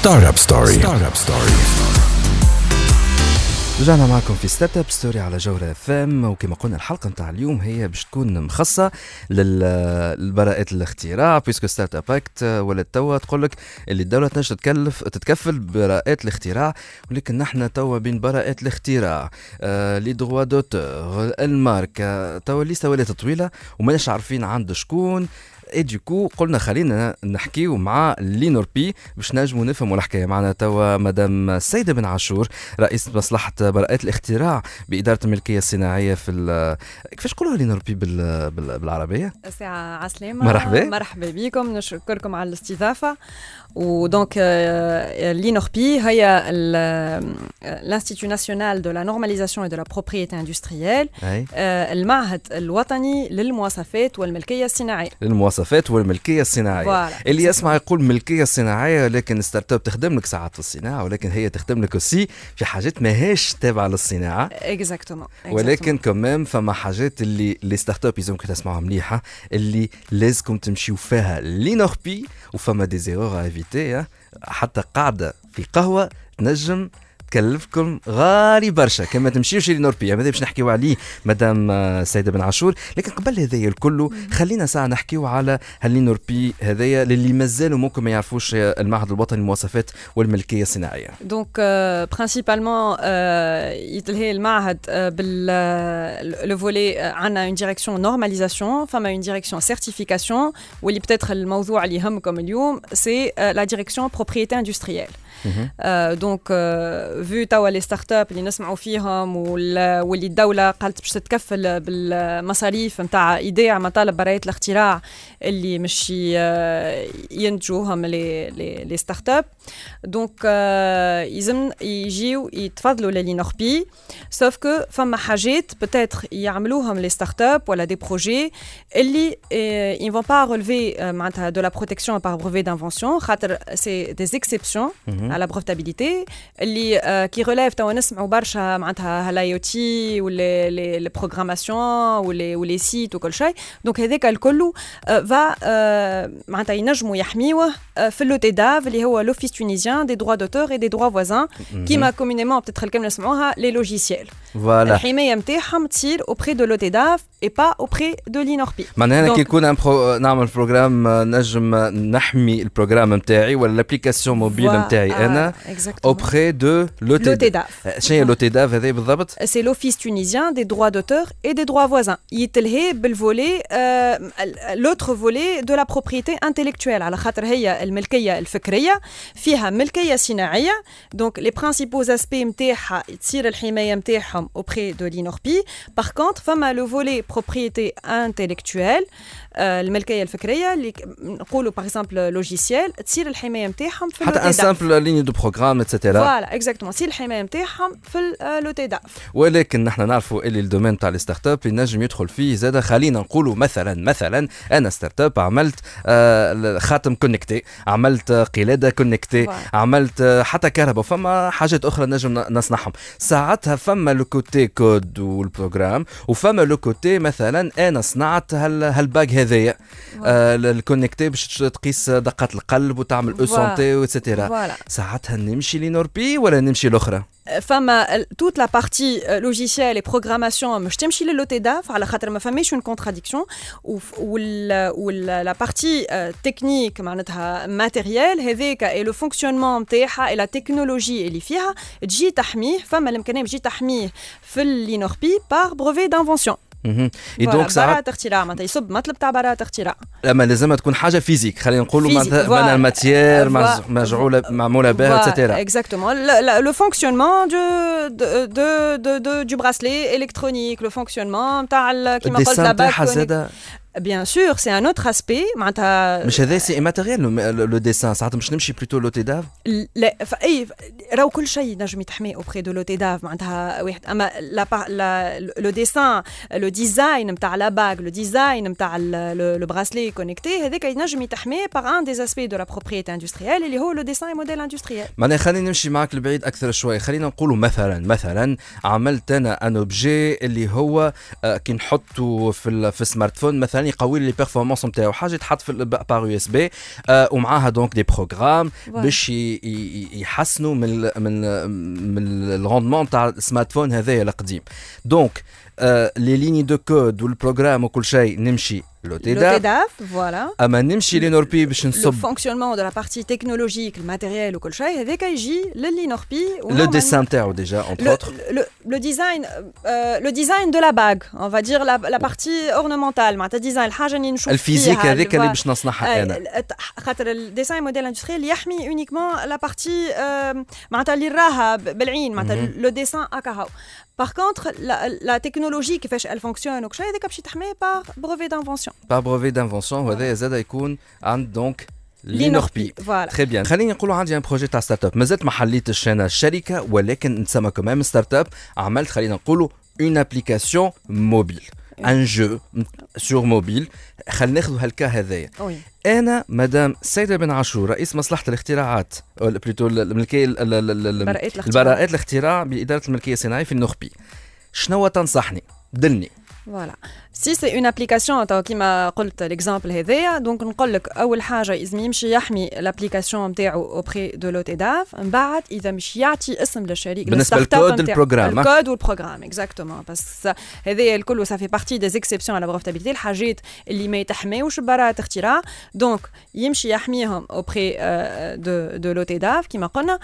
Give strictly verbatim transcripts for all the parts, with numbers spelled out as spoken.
ستارت اب ستوري. ستارت اب ستوري. رجعنا معكم في ستارت اب ستوري على جوهرة اف ام، وكما قلنا الحلقه نتاع اليوم هي باش تكون مخصصه للبراءات الاختراع، بيسكو ستارت اب اكت ولا توا تقول لك اللي الدوله تنجم تكلف تتكفل براءات الاختراع، ولكن نحن توا بين براءات الاختراع آه لي دروا دوتور الماركه توا لسه ولات طويله وماناش عارفين عند شكون. اي ديكو قلنا خلينا نحكيو مع لينوربي باش نجموا نفهموا الحكايه. معنا توا مدام السيده بن عاشور رئيس مصلحه براءات الاختراع باداره الملكيه الصناعيه في كيفاش نقولوها لينوربي بال... بال... بالعربيه؟ ساعه عسلامه. مرحبا مرحبا بكم، نشكركم على الاستضافه. ودونك لينوربي هي l'Institut national de la normalisation et de la propriété industrielle، المعهد الوطني للمواصفات والملكيه الصناعيه. للمواصفات والملكيه الصناعيه اللي يسمع يقول ملكيه صناعيه، لكن ستارت اب تخدم لك ساعات في الصناعه، ولكن هي تخدم لك aussi في حاجات ماهيش تابعه للصناعه. اكزاكتومون. ولكن كمان فما حاجات اللي لي ستارت اب يلزمكم تسمعوها مليحه، اللي لازمكم تمشيو فيها لينوربي، وفما دي زيرور افيتي حتى قاعده في قهوه تنجم تكلفكم غالي برشا كما تمشيوش لينوربي. ماذا باش نحكيو عليه مدام السيده بن عاشور، لكن قبل هذايا الكل خلينا ساعه نحكيو على هاللينوربي هذايا للي مازالوا ممكن ما يعرفوش المعهد الوطني للمواصفات والملكيه الصناعيه. دونك برينسيبالمون يتلهي المعهد بال لو فولي عندنا اون ديريكسيون نورماليزاسيون، فما اون ديريكسيون سيرتيفيكاسيون، واللي بتاتر الموضوع اللي يهمكم اليوم سي لا ديريكسيون بروبريتي اندستريال. دونك فيو توا لي ستارت اب اللي نسمعوا فيهم واللي الدوله قالت باش تتكفل بالمصاريف نتاع ايداع مطالب براءه الاختراع اللي مش ينتجوهم لي لي ستارت اب. دونك يلزم يجيو يتفضلوا للينوربي، سوف كو فما حاجات بتاتر يعملوهم لي ستارت اب ولا دي بروجي اللي ils vont pas relever معناتها de la protection par brevet d'invention، خاطر سي des exceptions à la brevetabilité اللي كي ريليف توا نسمعوا برشا معناتها هالاي او تي ولا لي بروغراماسيون ولا ولي سيت وكل شيء. دونك هذاك الكل فا معناتها ينجموا يحميوه في لو تي داف اللي هو لوفيس تونيزيان دي دروا دوتور اي دي دروا فوازان، كيما كومونيمون بتتر الكلمه نسمعوها لي لوجيسيال. الحمايه نتاعهم تصير اوبري دو لو تي داف اي با اوبري دو لينوربي. معناها كي يكون برو... نعمل بروغرام نجم نحمي البروغرام نتاعي ولا الابليكاسيون موبيل نتاعي انا auprès de l'O T D A F. شنو هي l'O T D A F هذا بالضبط؟ C'est l'Office tunisien des droits d'auteur et des droits voisins. يتلهي بالفولي l'autre volet de la propriété intellectuelle، على خاطر هي الملكيه الفكريه فيها ملكيه صناعيه. دونك les principaux aspects نتاعها تصير الحمايه نتاعهم auprès de l'INORPI. Par contre فما le volet propriété intellectuelle الملكيه الفكريه اللي نقولوا باغ اكزومبل لوجيسيال تصير الحمايه نتاعهم في حتى ان سامبل ليني دو بروغرام اتسيتيرا. فوالا اكزاكتومون تصير الحمايه نتاعهم في لو تي داف. ولكن نحن نعرفوا اللي الدومين تاع الستارت اب ينجم يدخل فيه زاده. خلينا نقولوا مثلا مثلا انا ستارت اب عملت آه خاتم كونكتي، عملت قلاده كونكتي، عملت حتى كهرباء، فما حاجات اخرى نجم نصنعهم. ساعتها فما لو كوتي كود والبروغرام، وفما لو كوتي مثلا انا صنعت هال هالباج هذايا آه الكونكتي باش تقيس دقات القلب وتعمل او سونتي واتسيتيرا. ساعتها نمشي لينوربي ولا نمشي الاخرى؟ فما toute la partie logicielle et programmation مش تمشي للو تي داف على خاطر ما فماش اون كونتراديكسيون، وال وال la partie technique معناتها ماتيريال هذاك اي لو فونكسيونمون نتاعها اي لا تكنولوجي اللي فيها تجي تحميه. فما الامكانيه تجي تحميه في اللينوربي بار بروفي دانفونسيون. اي دونك براءة اختراع معناتها يصب مطلب تاع براءة اختراع، اما لازم تكون حاجه فيزيك. خلينا نقولوا مثلا الماتيير مجعوله معموله بها اتسيتيرا. اكزاكتومون لو فونكسيونمون دو دو دو دو دو براسلي الكترونيك، لو فونكسيونمون تاع كيما قلت لا باك. Bien sûr, c'est un autre aspect. معناتها مش هذا سي immatériel لو ديسان. ساعات مش نمشي بلوتو لو تي داف. لا اي راهو كل شيء نجم يتحمي اوبري دو لو تي داف معناتها واحد. اما لا لو ديسان لو ديزاين نتاع لا باغ، لو ديزاين نتاع لو براسلي كونيكتي، هذاك ينجم يتحمي باغ ان دي اسبي دو لا بروبريتي اندستريال اللي هو لو ديساين موديل اندستريال. معناها خلينا نمشي معك لبعيد اكثر شوي. خلينا نقولوا مثلا مثلا عملت انا ان اوبجي اللي هو كي نحطه في في السمارت فون مثلا يعني يقوي لي بيرفورمانس نتاعو، حاجه تحط في بار يو اس بي ومعاها دونك دي بروغرام باش يحسنوا من من من الروندمون تاع السمارت فون هذايا القديم. دونك لي ليني دو كود والبروغرام وكل شيء نمشي لوتيداف فوالا، اما نمشي لينوربي باش نصب لو فونكسيونمون دو لا بارتي تكنولوجيك الماتيريال وكل شيء هذاك يجي للينوربي. لو ديسان تاعو ديجا اونتر اوتر لو ديزاين لو ديزاين دو لا باغ اون فا دير لا بارتي اورنمونتال معناتها ديزاين الحاجه اللي نشوف الفيزيك هذيك اللي باش نصنعها انا، خاطر الديزاين موديل اندستريال يحمي اونيكمون لا بارتي معناتها اللي راها بالعين معناتها لو ديسان هكا. Par contre, la, la technologie qui fait elle fonctionne ou quelque chose, c'est تحمي par brevet d'invention. Par brevet d'invention, وهذا زاد يكون عند دونك لينوربي. Voilà. Très bien. خليني نقولوا عندي ان بروجي تاع ستارت اب، مازلت ما حليتش انا الشركه ولكن نسمى كمان ستارت اب، عملت خلينا نقولوا اون ابليكاسيون موبيل. ان جو سور موبيل. خلينا ناخذوا هالكا هذايا. انا مدام سيدة بن عاشور رئيس مصلحه الاختراعات بلوتو الملكيه البراءات الاختراع باداره الملكيه الصناعيه في النخبي، شنو تنصحني؟ دلني. Voilà. Si c'est une application كيما قلت l'exemple هذايا، دونك نقول لك اول حاجه لازم يمشي يحمي الابليكاسيون نتاعو اوبري دو لوتيداف، من بعد اذا مش يعطي اسم للشركه بالنسبه للكود البروغرام الكود والبروغرام اكزاكتومون، بس هذايا الكل سافي بارتي دي اكسبسيون على بروفيتابيلتي، الحاجات اللي ما يتحماوش براءه اختراع، دونك يمشي يحميهم اوبري دو دو لوتيداف كيما قلنا.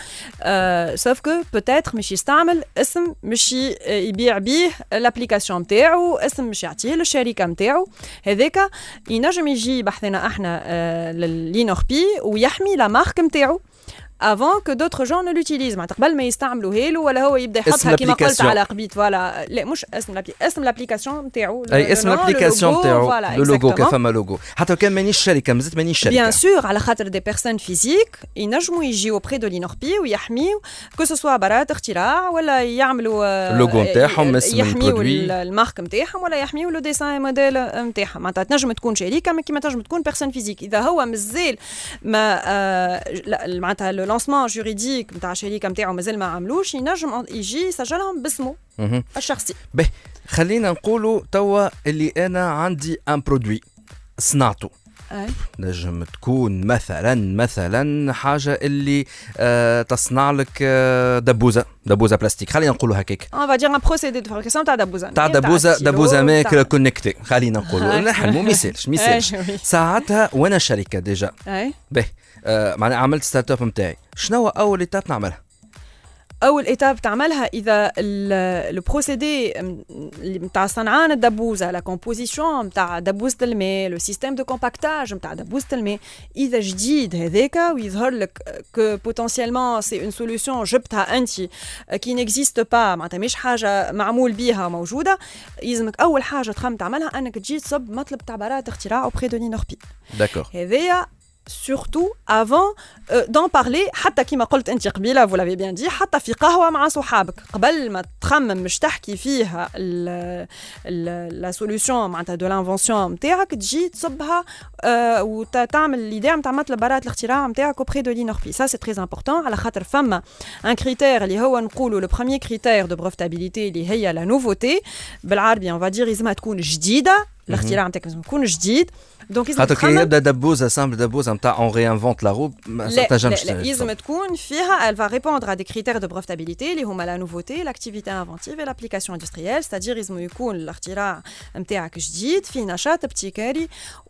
سوف كو بوتيتر مش يستعمل اسم مش يبيع بيه الابليكاسيون نتاعو، اسم مش يعطيه للشركه نتاعو، هذاك ينجم يجي بحثنا احنا آه للينوربي ويحمي لا مارك نتاعو avant que d'autres gens ne l'utilisent. معناتها قبل ما يستعملوا هيلو ولا هو يبدا يحطها كيما قلت على قبيت فوالا، لا مش اسم لابلي اسم لابليكاسيون نتاعو، اي اسم لابليكاسيون نتاعو لو لوغو كفما لوغو، حتى كان مانيش شركه مازلت مانيش شركه بيان سور، على خاطر دي بيرسون فيزيك ينجموا يجيو بري دو لينوربي ويحميو كو سو سوا براءة اختراع ولا يعملوا اللوغو نتاعهم اسم البرودوي المارك نتاعهم ولا يحميو لو ديساين موديل نتاعهم. معناتها تنجم تكون شركه كيما تنجم تكون بيرسون فيزيك، اذا هو مازال ما معناتها لو لانسمون جوريديك نتاع الشركه نتاعو مازال ما عملوش، ينجم يجي يسجلهم باسمه الشخصي. به خلينا نقولوا توا اللي انا عندي ان برودوي صنعته، نجم تكون مثلا مثلا حاجه اللي آه تصنع لك آه دبوزه دبوزه بلاستيك، خلينا نقولوا هكاك اون فا دير ان بروسيدي دو فابريكاسيون تاع دبوزه تاع دبوزه دبوزه ماك كونيكتي، خلينا نقولوا نحن ما يسالش ما يسالش ساعتها وانا شركه ديجا. به آه معناها عملت ستارت اب نتاعي، شنو اول ايتاب نعملها؟ اول ايتاب تعملها اذا لو بروسيدي نتاع صنعان الدبوزه، لا كومبوزيسيون نتاع دبوزه الماء، لو سيستيم دو كومباكتاج نتاع دبوزه الماء، اذا جديد هذاك ويظهر لك كو بوتونسيالمون سي اون سوليوشن جبتها انت كي نيكزيست با، معناتها مش حاجه معمول بيها موجوده، يلزمك اول حاجه تخمم تعملها انك تجي تصب مطلب تاع براءه اختراع اوبري دو لينوربي. داكور. هذايا surtout avant euh, d'en parler، حتى كيما قلت انت قبيله vous l'avez bien dit، حتى في قهوه مع صحابك قبل ما تخمم مش تحكي فيها لا سوليوشن معناتها دو لانفونسيون نتاعك، تجي تصبها آه وتعمل ليديا نتاع مطلب براءه الاختراع نتاعك اوبري دو لينوربي. سا سي تري امبورطون، على خاطر فما ان كريتير اللي هو نقولوا لو بروميير كريتير دو بروفيتابيليتي اللي هي لا نوفوتي، بالعربي اون فا دير لازمها تكون جديده، الاختراع نتاعك لازم يكون جديد. دونك خاطر كي يبدا دبوزه سامبل دبوزه نتاع اون ريانفونت لا رو ما تنجمش لازم تكون فيها elle va répondre à des critères de brevetabilité اللي هما لا نوفوتي، لاكتيفيتي انفونتيف اي لابليكاسيون اندستريال، ستادير لازم يكون الاختراع نتاعك جديد فيه نشاط ابتكاري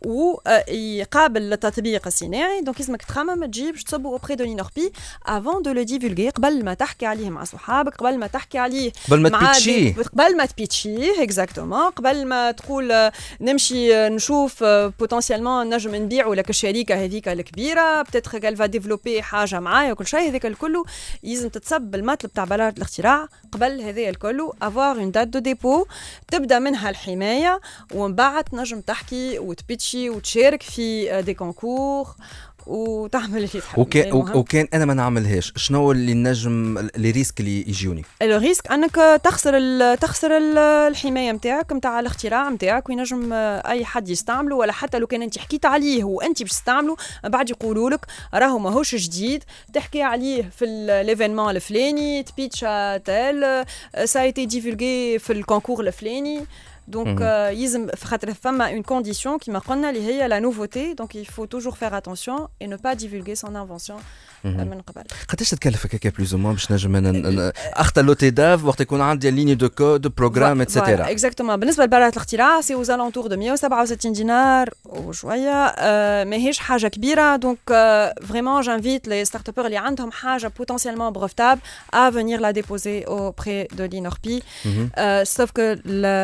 ويقابل التطبيق الصناعي. دونك لازمك تخمم ما تجيبش تصبوا اوبري دو لينوربي افون دو لو ديفولغي، قبل ما تحكي عليه مع صحابك، قبل ما تحكي عليه قبل ما تبيتشيه قبل ما تبيتشيه اكزاكتومون، قبل ما تقول نمشي نشوف بوتنسيالمون نجم نبيعوا لك الشركه هذيك الكبيره بتاتخ قال فا ديفلوبي حاجه معايا وكل شيء، هذاك الكل لازم تتصب المطلب تاع براءه الاختراع قبل هذايا الكل، افوار اون دات دو ديبو تبدا منها الحمايه، ومن بعد تنجم تحكي وتبيتشي وتشارك في دي كونكور وتعمل اللي تحب. وكان وكان انا ما نعملهاش، شنو اللي نجم لي ريسك اللي يجوني؟ لو ريسك انك تخسر ال تخسر ال الحمايه نتاعك نتاع الاختراع نتاعك، وينجم اي حد يستعمله، ولا حتى لو كان انت حكيت عليه وانت باش تستعمله بعد يقولوا لك راهو ماهوش جديد، تحكي عليه في ليفينمون الفلاني، تبيتشا تال سا ايتي ديفولغي في الكونكور الفلاني، دونك يلزم خاطر فما اون كونديسيون كيما قلنا اللي هي لا نوفوتي دونك il faut toujours faire attention et ne pas divulguer son invention من قبل. قداش تكلفك هكا بلوز مون باش نجم اختار لو تي داف وقت يكون عندي ليني دو كود بروغرام اتسيتيرا؟ اكزاكتومون. بالنسبه لبراءة الاختراع سي اوز الونتور دو مية وسبعة وستين دينار وشويه، ماهيش حاجه كبيره. دونك فريمون جانفيت لي ستارت ابر اللي عندهم حاجه بوتونسيالمون بروفتاب ا فينير لا ديبوزي اوبري دو لينوربي. سوف كو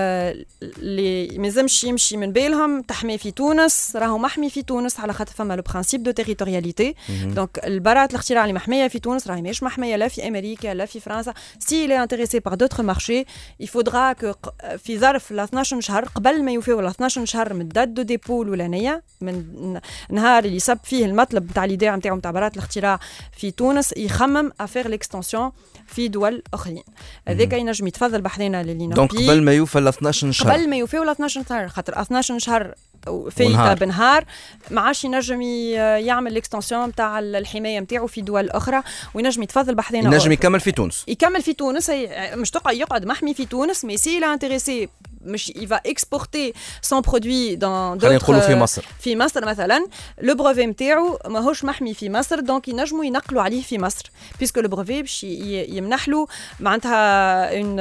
اللي مازمش يمشي من بالهم تحمي في تونس، راهو محمي في تونس على خاطر فما لو برانسيب دو تيريتورياليتي. دونك البراءة الاختراع اللي محميه في تونس راهي مش محميه لا في امريكا لا في فرنسا. سي il est intéressé par d'autres marchés il faudra que في ظرف ل اثناش شهر قبل ما يوفيو ل اثناش شهر من دات دو ديبو الاولانيه من نهار اللي صب فيه المطلب نتاع ليديا نتاعو نتاع براءة الاختراع في تونس يخمم افير ليكستنسيون في دول اخرين. هذاك ينجم يتفضل بحذنا للي دونك قبل ما يوفى ل اثناش شهر قبل ما يوفيو ل اثناش شهر خاطر اثناش شهر في بنهار ما عادش ينجم يعمل ليكستنسيون نتاع الحمايه نتاعو في دول اخرى وينجم يتفضل بحذنا. ينجم يكمل في تونس يكمل في تونس مش تقعد يقعد محمي في تونس مي سي لا انتريسي مش il va exporter son produit dans خلينا نقولوا في مصر. في مصر مثلا لو بروفي نتاعو ماهوش محمي في مصر دونك ينجموا ينقلوا عليه في مصر بيسكو لو بروفي باش يمنح له معناتها اون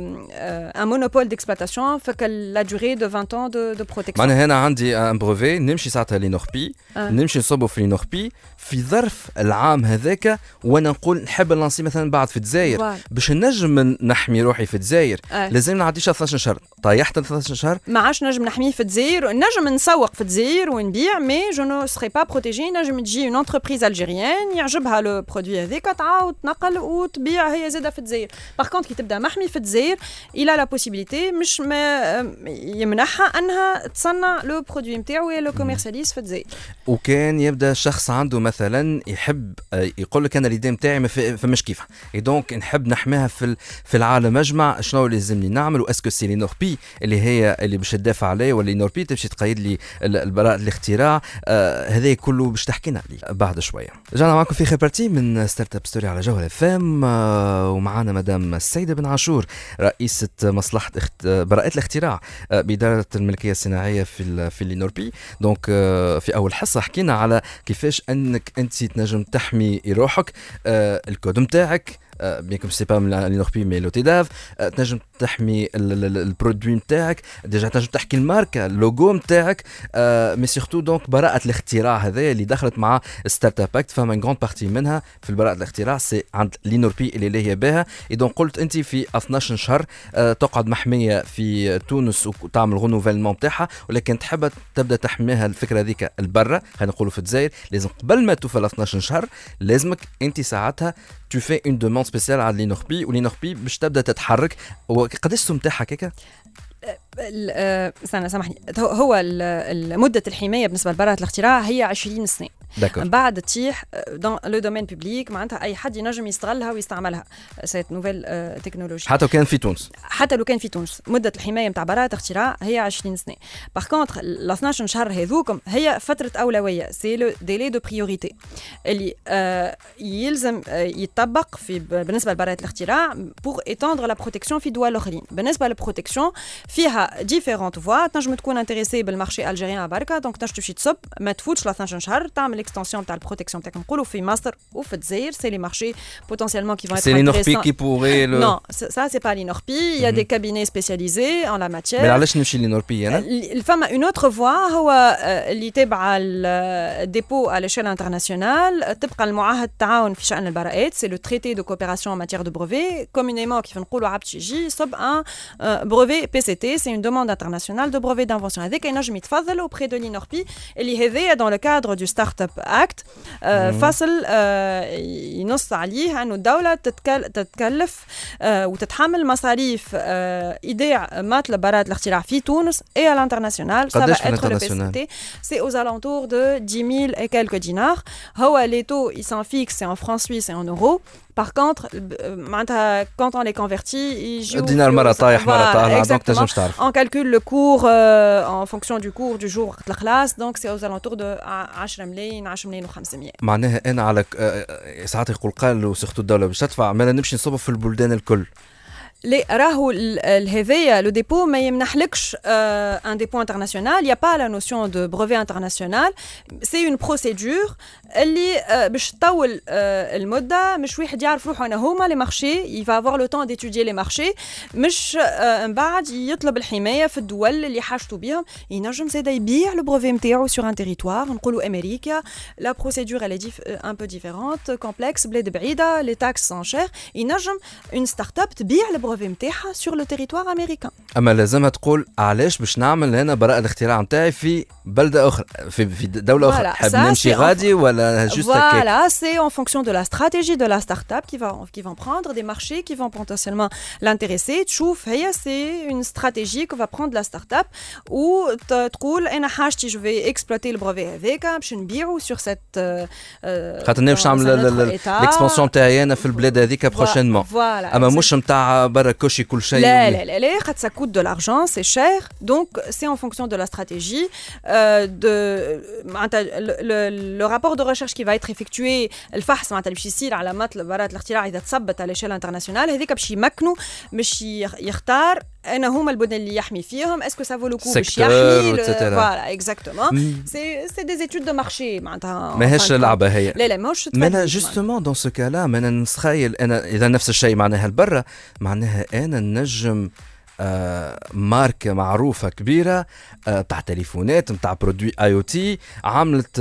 ان مونوبول ديكسبلوطاسيون فك لا دوري دو عشرين ans de de protection. معناها هنا عندي ان بروفي نمشي ساعتها لينوربي آه. نمشي نصبوا في لينوربي في ظرف العام هذاك وانا نقول نحب نلانسي مثلا بعد في الجزائر باش نجم نحمي روحي في الجزائر آه. لازم نعديش اثناش شهر طيحت ثلاثة شهر ما عادش نجم نحميه في الجزائر نجم نسوق في الجزائر ونبيع مي جو نو سري با بروتيجي. نجم تجي اون انتربريز الجيريان يعجبها لو برودوي هذاك تعاود تنقل وتبيع هي زاده في الجزائر. باغ كونط كي تبدا محمي في الجزائر الى لا بوسيبيليتي مش ما يمنحها انها تصنع لو برودوي نتاعو لو كوميرسياليز في الجزائر. وكان يبدا شخص عنده مثلا يحب يقول لك انا اليدين نتاعي ما فماش كيفها اي دونك نحب نحميها في في العالم اجمع شنو لازمني نعمل واسكو سي لينوربي اللي هي اللي باش تدافع عليه ولا لينوربي تمشي تقيد لي البراءة الاختراع آه هذا كله باش تحكينا عليه بعد شويه. رجعنا معكم في خير بارتي من ستارت اب ستوري على جوهر اف ام آه ومعنا مدام السيده بن عاشور رئيسه مصلحه اخت... براءة الاختراع آه باداره الملكيه الصناعيه في في لينوربي. دونك آه في اول حصه حكينا على كيفاش انك انت تنجم تحمي روحك آه الكود نتاعك بيان كوم سي با لينوربي مي لو تي داف تنجم تحمي البرودوي نتاعك ديجا تنجم تحكي الماركه اللوغو نتاعك مي سورتو دونك براءة الاختراع هذايا اللي دخلت مع ستارت اب اكت فما غون بارتي منها في البراءة الاختراع سي عند لينوربي اللي ليه بها. اي دونك قلت انت في اثناش شهر تقعد محميه في تونس وتعمل غنوفيلمون نتاعها ولكن تحب تبدا تحميها الفكره هذيك البرة خلينا نقولوا في الجزائر لازم قبل ما توفى اثناش شهر لازمك انت ساعتها tu fais une demande spéciale على لينوربي ولينوربي باش تبدا تتحرك. وقداش السوم تاعها هكاك؟ استنى سامحني هو مدة الحماية بالنسبة لبراءة الاختراع هي عشرين سنة. من بعد تطيح دون لو دومين بوبليك معناتها اي حد ينجم يستغلها ويستعملها سيت نوفيل تكنولوجي حتى لو كان في تونس حتى لو كان في تونس مده الحمايه نتاع براءة الاختراع هي عشرين سنه. باغ كونطخ ال اثناش شهر هذوكم هي فتره اولويه سي لو ديلي دو بريوريتي اللي آه يلزم آه يطبق في بالنسبه لبراءة الاختراع بور ايتاندر لا بروتيكسيون في دول اخرين. بالنسبه للبروتيكسيون فيها ديفيرونت فوا تنجم تكون انتريسي بالمارشي الجيريان بركه دونك تنجم تمشي تصب ما تفوتش ل اثناش شهر تعمل l'extension تاع البروتيكسيون تاعك نقولوا في مصر وفي الجزائر سي لي مارشي potentiellement qui vont être c'est l'Inorpi qui pourrait le non ça c'est pas l'Inorpi il y a des cabinets spécialisés en la matière. mais علاش نمشي للإنوربي انا الفما une autre voie هو اللي تبع الديبو à l'échelle internationale تبقى المعاهد التعاون في شأن البراءات c'est le traité de coopération en matière de brevet communément كيف نقولوا عبد يجي صب un brevet P C T c'est une demande internationale de brevet d'invention هذاك ينجم يتفضل auprès de l'Inorpi اللي هذايا dans le cadre du Startup Act آه فصل آه ينص عليه أنه الدولة تتكل تتكلف آه وتتحمل مصاريف آه إيداع مطلب براءة الاختراع في تونس et à l'international. Ça va être le P C T. C'est aux alentours de dix mille et quelques dinars. هو les taux ils s'en fixent c'est en francs suisses et en euros. Par contre, quand on les convertit, ils jouent. Dinar مرة طايح مرة طالع donc تنجم تعرف. On calcule le cours euh, en fonction du cours du jour de la classe donc c'est aux alentours de عشرة ملايين عشرة ملايين وخمسمية. معناها أنا على ساعات يقول قال وسخطوا الدولة باش تدفع ما نمشي نصبوا في البلدان الكل. Les راهو هذايا le dépôt ما يمنحلكش un dépôt international, il y a pas la notion de brevet international, c'est une procédure اللي باش تطول المده مش واحد يعرف روحه انا هما لي مارشي il va avoir le temps d'étudier les marchés مش من بعد يطلب الحمايه في الدول اللي حاجته بهم ينجم زاد يبيع le brevet نتاعو sur un territoire نقولوا امريكا la procédure elle est un peu différente complexe بلاد بعيده les taxes sont chères ينجم une start-up تبيع le brevet نتاعها sur le territoire américain. اما لازم تقول علاش باش نعمل هنا براءه الاختراع نتاعي في بلده اخرى في في دوله اخرى حاب نمشي غادي ولا juste voilà, c'est en fonction de la stratégie de la start-up qui va qui vont prendre des marchés qui vont potentiellement l'intéresser. تشوف هي c'est une stratégie que va prendre la start-up ou تقول انا حاجتي je vais exploiter le brevet هذاك باش نبيعو sur cette خاطر باش نعمل l'expansion نتاعي انا في البلاد هذيك prochainement. اما مش نتاع برا كوشي كل شيء. لا لا لا لا خاطر ça coûte de l'argent, c'est cher. Donc c'est en fonction de la stratégie euh, de le, le rapport de recherche qui va être effectué الفحص معناتها باش يصير على مطلب براءة الاختراع اذا تثبت على l'échelle internationale هذيك باش يمكنوا باش يختار انا هما البنى اللي يحمي فيهم اسكو سا فو لو كو باش يحمي فوالا اكزاكتومون سي سي دي ايتود دو مارشي معناتها ماهيش لعبه هي. لا لا ماهوش انا جوستومون دون سو كالا انا نتخيل انا اذا نفس الشيء معناها البرة معناها انا نجم آه ماركة معروفة كبيرة آه تاع تليفونات تاع برودوي اي او تي عملت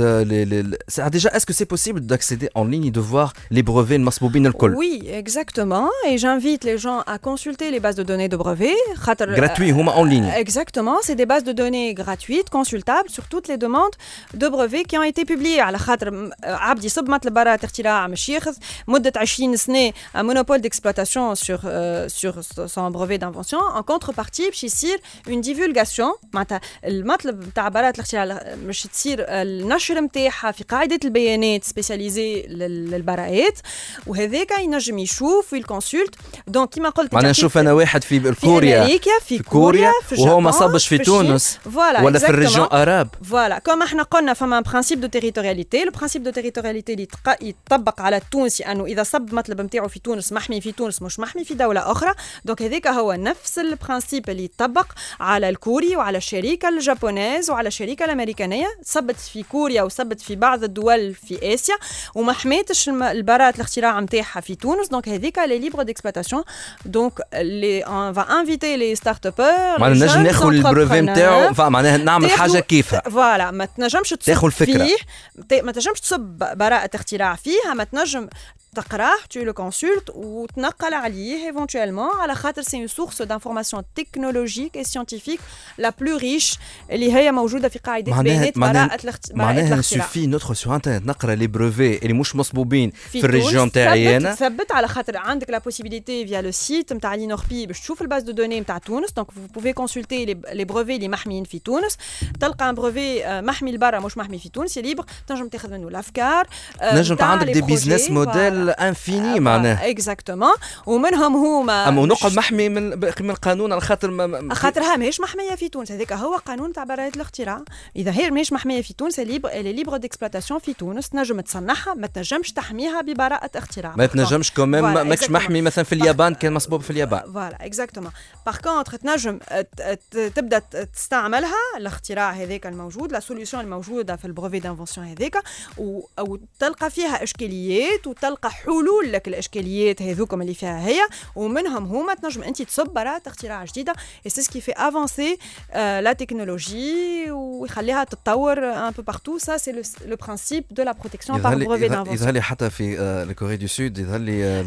آه ديجا اسكو سي بوسيبل d'accéder en ligne de voir les brevets المصبوبين الكل. Oui, exactement et j'invite les gens à consulter les bases de données de brevets خاطر gratuit هما en ligne. Exactement, c'est des bases de données gratuites consultables sur toutes les demandes de brevets qui ont été publiées على خاطر عبد يصب مطلب براءة اختراع مش ياخذ مدة عشرين سنة un monopole d'exploitation sur euh, sur son brevet d'invention. contrepartie باش يصير une divulgation معناتها المطلب تاع براءة الاختراع مش تصير النشر نتاعها في قاعدة البيانات سبيسياليزي للبراءات وهذاك ينجم يشوف ويكونسلت دونك كيما قلت معناها نشوف انا واحد في كوريا في امريكا في, في كوريا وهو ما صابش في تونس ولا في الريجون اراب فوالا كما احنا قلنا فما برانسيب دو تيريتورياليتي لو برانسيب دو تيريتورياليتي اللي يطبق على التونسي انه اذا صب مطلب نتاعو في تونس محمي في تونس مش محمي في دوله اخرى دونك هذاك هو نفس البرانسيب اللي يطبق على الكوري وعلى الشركه الجابونيز وعلى الشركه الامريكانيه صبت في كوريا وصبت في بعض الدول في اسيا وما حميتش البراءه الاختراع نتاعها في تونس دونك هذيك لي ليبر ديكسبلوطاسيون دونك لي اون فا انفيتي لي ستارت ابر معناها نجم ناخذ البروفي نتاعو معناها نعمل حاجه كيفها فوالا ما تنجمش تصب فيه ما تنجمش تصب براءه اختراع فيها ما تنجم تقراه tu le consultes وتنقل عليه éventuellement على خاطر c'est une source d'information technologique et scientifique la plus riche اللي هي موجوده في قاعده بيانات براءة الاختراع. معناها سوفي ندخل سو انترنت نقرا لي بروفي اللي مش مصبوبين في, في الريجيون تاعي انا ثبت على خاطر عندك لا بوسيبيليتي فيا لو سيت نتاع لينوربي باش تشوف الباز دو دوني نتاع تونس دونك vous pouvez consulter les brevets اللي محميين في تونس تلقى ان بروفي محمي لبرا مش محمي في تونس ليبر تنجم تاخذ منه الافكار نجم عندك دي بيزنس موديل انفيني معناها اكزاكتومون ومنهم هما اما نقعد محمي من من القانون على خاطر ما خاطرها ماهيش محميه في تونس هذاك هو قانون تاع براءة الاختراع اذا هي ماهيش محميه في تونس ليبر اللي ليبر ديكسبلوطاسيون في تونس تنجم تصنعها ما تنجمش تحميها ببراءة اختراع ما تنجمش كوميم ماكش محمي مثلا في اليابان كان مصبوب في اليابان فوالا اكزاكتومون باغ كونتر تنجم تبدا تستعملها الاختراع هذاك الموجود لا سوليوشن الموجوده في البروفي دانفونسيون هذاك او تلقى فيها اشكاليات وتلقى حلول لك الاشكاليات هذوكم اللي فيها هي ومنهم هما تنجم انت تصب براءة اختراع جديده et c'est ce qui fait avancer euh, la technologie ويخليها تتطور un peu partout ça c'est le, le principe de la protection par brevet d'invention. يظهر لي حتى في الكوري دو سود يظهر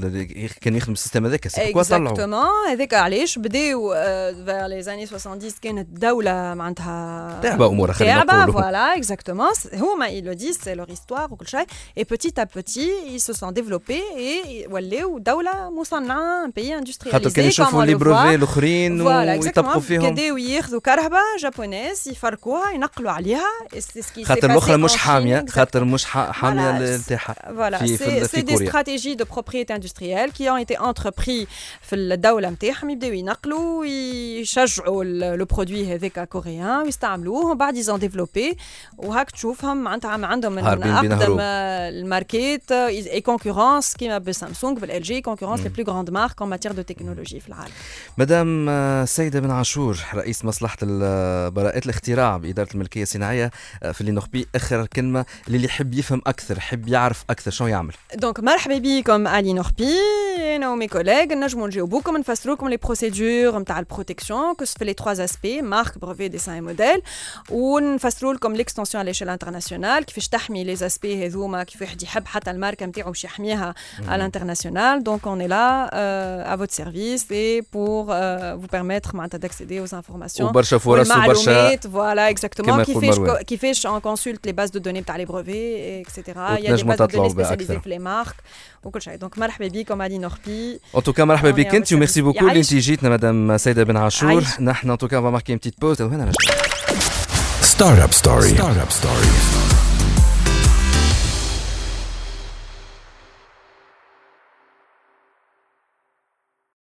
لي كان يخدم السيستم هذاك سي كوا طلعوا اكزاكتومون هذاك علاش بداو vers les années soixante-dix كانت دولة معناتها تعبة أمورها خلينا نقولوا voilà exactement هما ils le disent c'est leur histoire وكل شيء et petit à petit ils se sont développés et ولاو دولة مصنعة un pays industrialisé خاطر كانوا يشوفوا لي بروفي الاخرين ويطبقوا فيهم كداو ياخذوا كرهبة جابونيز يفركوها ينقلوا عليها خاطر الأخرى مش حامية خاطر مش حامية نتاعها voilà c'est des stratégies de propriété industrielle qui ont été entrepris في الدولة نتاعهم يبداو ينقلوا يشجعوا لو برودوي هذاك كوريان ويستعملوه ومن بعد ils ont développé وهاك تشوفهم معناتها عندهم من أقدم الماركات et concurrents concurrence كيما بالسامسونج بالال جي concurrence les plus grandes marques en matière de technologie في العالم. مدام سيدة بن عاشور رئيس مصلحة براءات الاختراع بإدارة الملكية الصناعية في اللي نخبي آخر كلمة اللي يحب يفهم أكثر يحب يعرف أكثر شو يعمل. دونك مرحبا بكم علي نخبي أنا ومي كوليغ نجموا نجاوبوكم نفسروكم لي بروسيدور نتاع البروتكسيون كو في لي trois aspects مارك بريفي ديسان اي موديل ونفسروا لكم ليكستنسيون على ليشيل انترناسيونال كيفاش تحمي لي اسبي هذوما كيف واحد يحب حتى الماركه نتاعو باش يحميها على الانترناسيونال. دونك اون اي لا à votre service et pour euh, vous permettre d'accéder aux informations وبرشا فرص وبرشا voilà exactement كيفاش كيفاش on consulte les bases de données تاع les brevets et cetera. Il y a des bases de données spécialisées في les marques وكل شيء. دونك مرحبا بكم علي نخبي. En tout cas مرحبا بك انت وميرسي بوكو اللي انت جيتنا مدام سيدة بن عاشور. نحن en tout cas on va marquer une petite pause وهنا نرجع. Startup Story. Startup Story.